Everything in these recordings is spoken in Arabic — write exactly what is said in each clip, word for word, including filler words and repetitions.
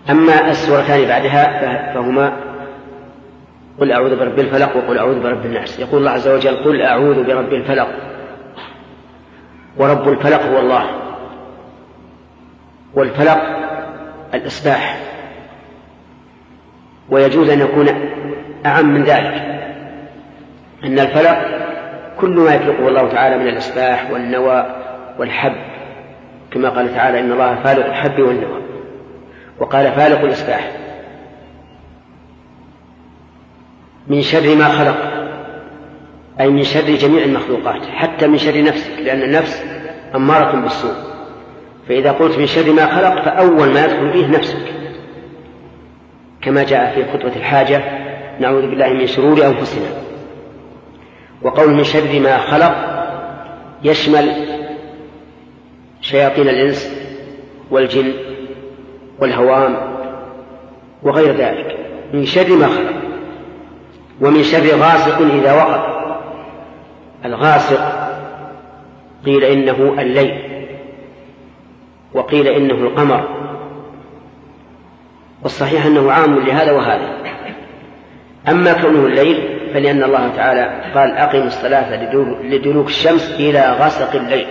أما السورتان بعدها فهما قل أعوذ برب الفلق وقل أعوذ برب الناس. يقول الله عز وجل قل أعوذ برب الفلق، ورب الفلق هو الله، والفلق الإصباح، ويجوز أن يكون أعم من ذلك، أن الفلق كل ما يفلقه الله تعالى من الإصباح والنوى والحب، كما قال تعالى إن الله فالق الحب والنوى، وقال فالق الإصباح. من شر ما خلق، أي من شر جميع المخلوقات، حتى من شر نفسك، لأن النفس أمارة بالسوء، فإذا قلت من شر ما خلق فأول ما يدخل فيه نفسك، كما جاء في خطبة الحاجة نعوذ بالله من شرور أنفسنا. وقول من شر ما خلق يشمل شياطين الإنس والجن والهوام وغير ذلك، من شر ما خلق. ومن شر غاسق إذا وقب، الغاسق قيل إنه الليل، وقيل إنه القمر، والصحيح أنه عام لهذا وهذا. أما كونه الليل فلأن الله تعالى قال أقم الصلاة لدلوك الشمس إلى غسق الليل،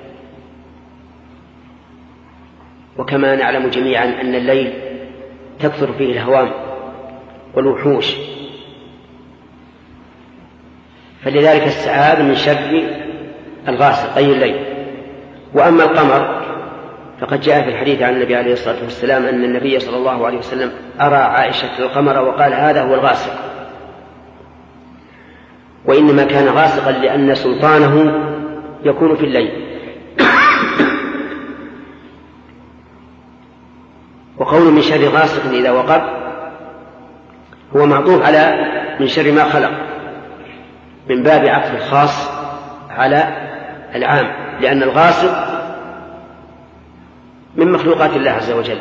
وكما نعلم جميعا أن الليل تكثر فيه الهوام والوحوش، فلذلك استعاذ من شر الغاسق أي الليل. وأما القمر فقد جاء في الحديث عن النبي عليه الصلاة والسلام أن النبي صلى الله عليه وسلم أرى عائشة القمر وقال هذا هو الغاسق، وإنما كان غاسقا لأن سلطانه يكون في الليل. وقول من شر غاسق إذا وقب هو معطوف على من شر ما خلق، من باب عطف الخاص على العام، لأن الغاسق من مخلوقات الله عز وجل.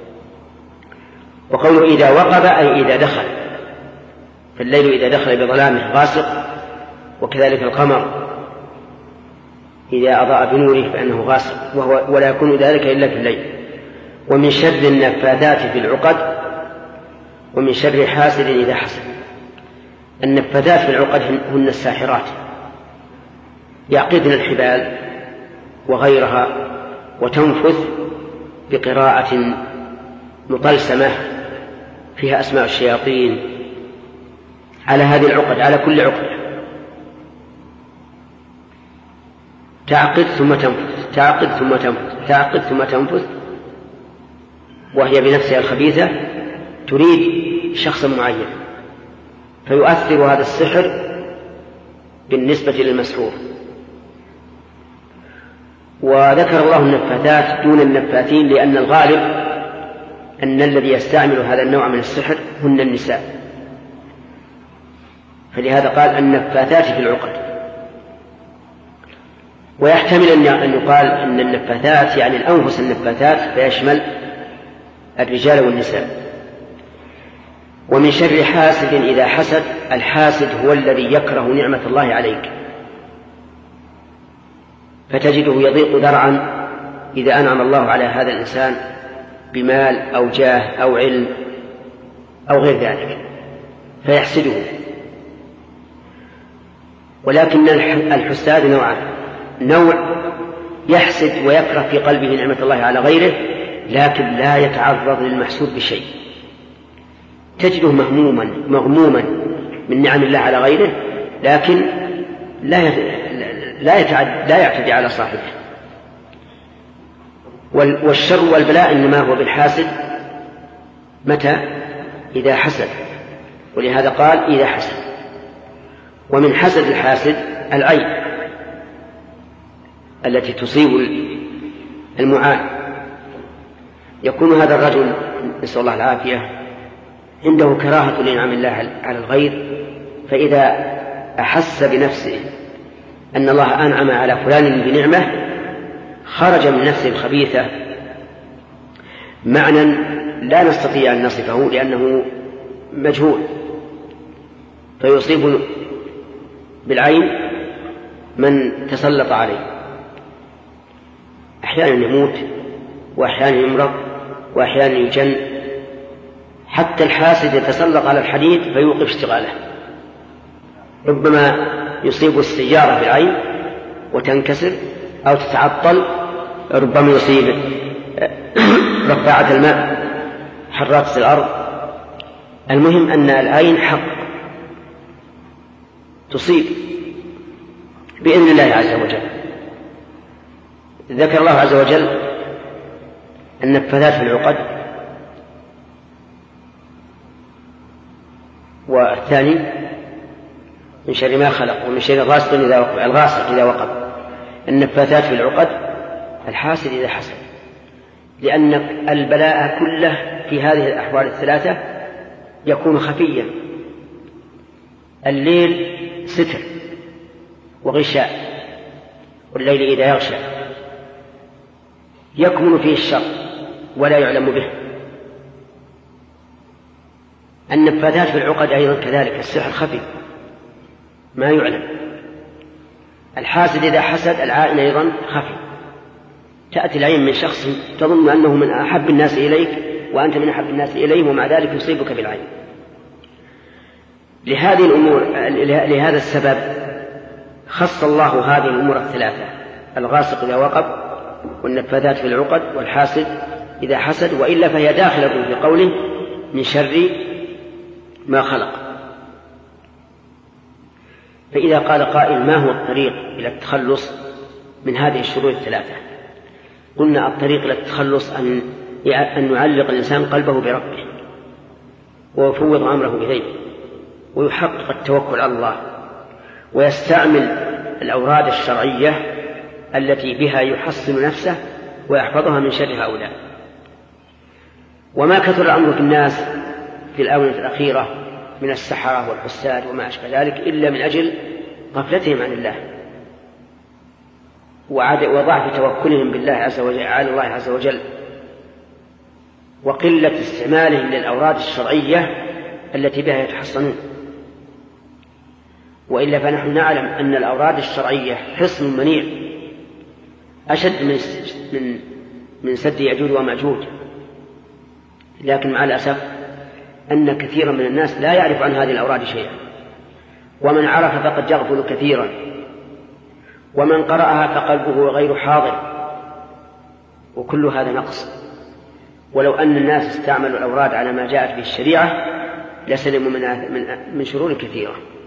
وقوله إذا وقب أي إذا دخل، فالليل إذا دخل بظلامه غاسق، وكذلك القمر إذا أضاء بنوره فإنه غاسق، وهو ولا يكون ذلك إلا في الليل. ومن شر النفاثات في العقد، ومن شر حاسد إذا حسد. النفاثات في العقد هن الساحرات، يعقدن الحبال وغيرها وتنفث بقراءة مطلسمة فيها أسماء الشياطين على هذه العقد، على كل عقد، تعقد ثم تنفث، تعقد ثم تنفث، تعقد ثم تنفث، وهي بنفسها الخبيثة تريد شخصا معين، فيؤثر هذا السحر بالنسبة للمسحور. وذكر الله النفاثات دون النفاثين لأن الغالب أن الذي يستعمل هذا النوع من السحر هن النساء، فلهذا قال النفاثات في العقد. ويحتمل أن يقال أن النفاثات يعني الأنفس النفاثات، فيشمل الرجال والنساء. ومن شر حاسد إذا حسد، الحاسد هو الذي يكره نعمة الله عليك، فتجده يضيق ذرعا إذا أنعم الله على هذا الإنسان بمال أو جاه أو علم أو غير ذلك فيحسده. ولكن الحساد نوعان، نوع يحسد ويكره في قلبه نعمة الله على غيره لكن لا يتعرض للمحسود بشيء، تجده مهموما مغموما من نعم الله على غيره لكن لا لا يتعد لا يعتدي على صاحبه. والشر والبلاء إنما هو بالحاسد متى؟ إذا حسد، ولهذا قال إذا حسد. ومن حسد الحاسد العين التي تصيب المعان، يكون هذا الرجل نسأل الله العافية عنده كراهة لنعم الله على الغير، فإذا أحس بنفسه أن الله أنعم على فلان بنعمة خرج من نفسه الخبيثة معنى لا نستطيع أن نصفه لأنه مجهول، فيصيب بالعين من تسلط عليه، أحيانا يموت وأحيانا يمرض وأحيانا يجن حتى الحاسد يتسلط على الحديد فيوقف اشتغاله، ربما يصيب السيارة بالعين وتنكسر أو تتعطل، ربما يصيب رفاعة الماء، حرات الأرض. المهم أن العين حق تصيب بإذن الله عز وجل. ذكر الله عز وجل النفاثات في العقد، والثاني من شر ما خلق ومن شر غاسق إذا وقب، الغاسق إذا وقب. النفاثات في العقد الحاسد إذا حسد، لأن البلاء كله في هذه الأحوال الثلاثة يكون خفيا. الليل ستر وغشاء، والليل إذا يغشى يكمن فيه الشر ولا يعلم به. النفاثات في العقد أيضا كذلك، السحر خفي ما يعلم. الحاسد إذا حسد العائن أيضا خفي، تأتي العين من شخص تظن أنه من أحب الناس إليك وأنت من أحب الناس إليه، ومع ذلك يصيبك بالعين. لهذه الأمور لهذا السبب خص الله هذه الأمور الثلاثة: الغاسق إذا وقب، والنفاثات في العقد، والحاسد إذا حسد، وإلا فهي داخلة في قوله من شر ما خلق. فإذا قال قائل ما هو الطريق إلى التخلص من هذه الشرور الثلاثة؟ قلنا الطريق إلى التخلص أن أن يعلق الإنسان قلبه بربه ويفوض أمره إليه ويحقق التوكل على الله، ويستعمل الأوراد الشرعية التي بها يحصن نفسه ويحفظها من شر هؤلاء. وما كثر الأمر في الناس في الآونة الأخيرة من السحرة والحساد وما أشبه ذلك إلا من أجل غفلتهم عن الله وضعف توكلهم بالله عز وجل على الله عز وجل، وقلة استعمالهم للأوراد الشرعية التي بها يتحصنون. وإلا فنحن نعلم أن الأوراد الشرعية حصن منيع أشد من من من سد يأجوج ومأجوج، لكن مع الأسف أن كثيرا من الناس لا يعرف عن هذه الأوراد شيئا، ومن عرف فقد يغفل كثيرا، ومن قرأها فقلبه غير حاضر، وكل هذا نقص. ولو أن الناس استعملوا الأوراد على ما جاءت به الشريعة لسلموا من من شرور كثيرة.